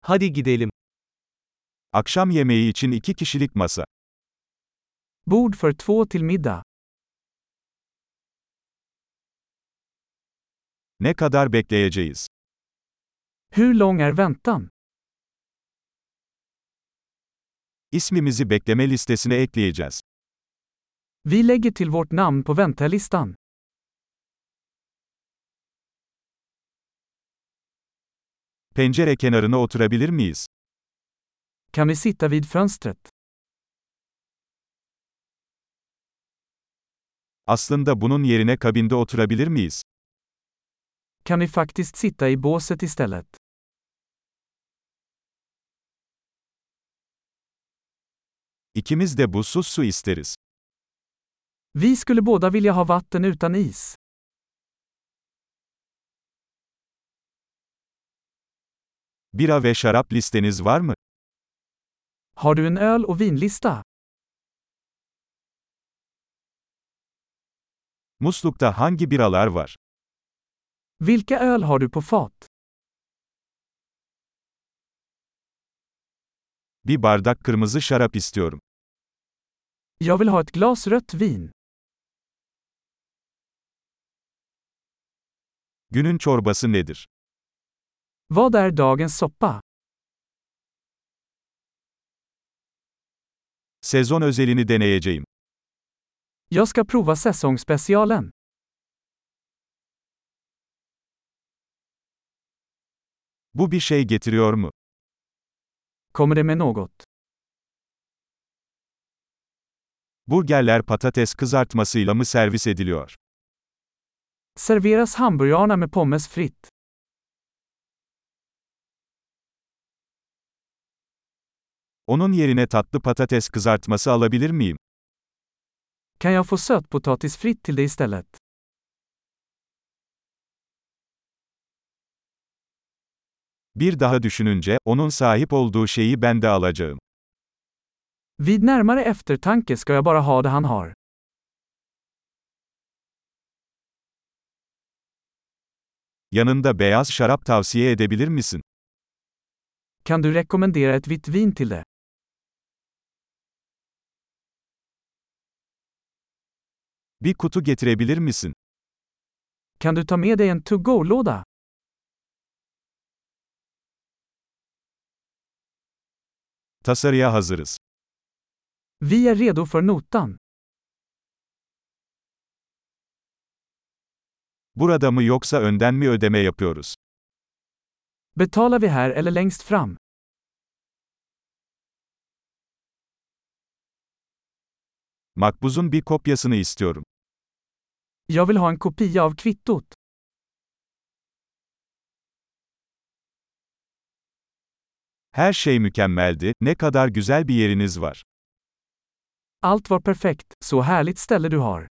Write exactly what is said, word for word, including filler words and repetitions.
Hadi gidelim. Akşam yemeği için iki kişilik masa. Bord för två till middag. Ne kadar bekleyeceğiz? Hur lång är väntan? İsmimizi bekleme listesine ekleyeceğiz. Vi lägger till vårt namn på väntelistan. Pencere kenarına oturabilir miyiz? Kan vi sitta vid fönstret? Aslında bunun yerine kabinde oturabilir miyiz? Kan vi faktiskt sitta i båset istället? İkimiz de buzsuz su isteriz. Vi skulle båda vilja ha vatten utan is. Bira ve şarap listeniz var mı? Har du en öl- och vinlista? Muslukta hangi biralar var? Vilka öl har du på fat? Bir bardak kırmızı şarap istiyorum. Jag vill ha ett glas rött vin. Günün çorbası nedir? Vad är dagens soppa? Sezon özelini deneyeceğim. Jag ska prova säsongsspecialen. Bu bir şey getiriyor mu? Kommer det med något? Burgerler patates kızartmasıyla mı servis ediliyor? Serveras hamburgarna med pommes fritt? Onun yerine tatlı patates kızartması alabilir miyim? Kan jag få sötpotatis fritt till det istället? Bir daha düşününce, onun sahip olduğu şeyi ben de alacağım. Vid närmare eftertanke ska jag bara ha det han har. Yanında beyaz şarap tavsiye edebilir misin? Kan du rekommendera ett vitt vin till det? Bir kutu getirebilir misin? Kan du ta med dig en to-go-låda? Tasarıya hazırız. Vi är redo för notan. Burada mı yoksa önden mi ödeme yapıyoruz? Betalar vi här eller längst fram? Makbuzun bir kopyasını istiyorum. Jag vill ha en kopia av kvittot. Her şey mükemmeldi, ne kadar güzel bir yeriniz var. Allt var perfekt, så härligt ställe du har.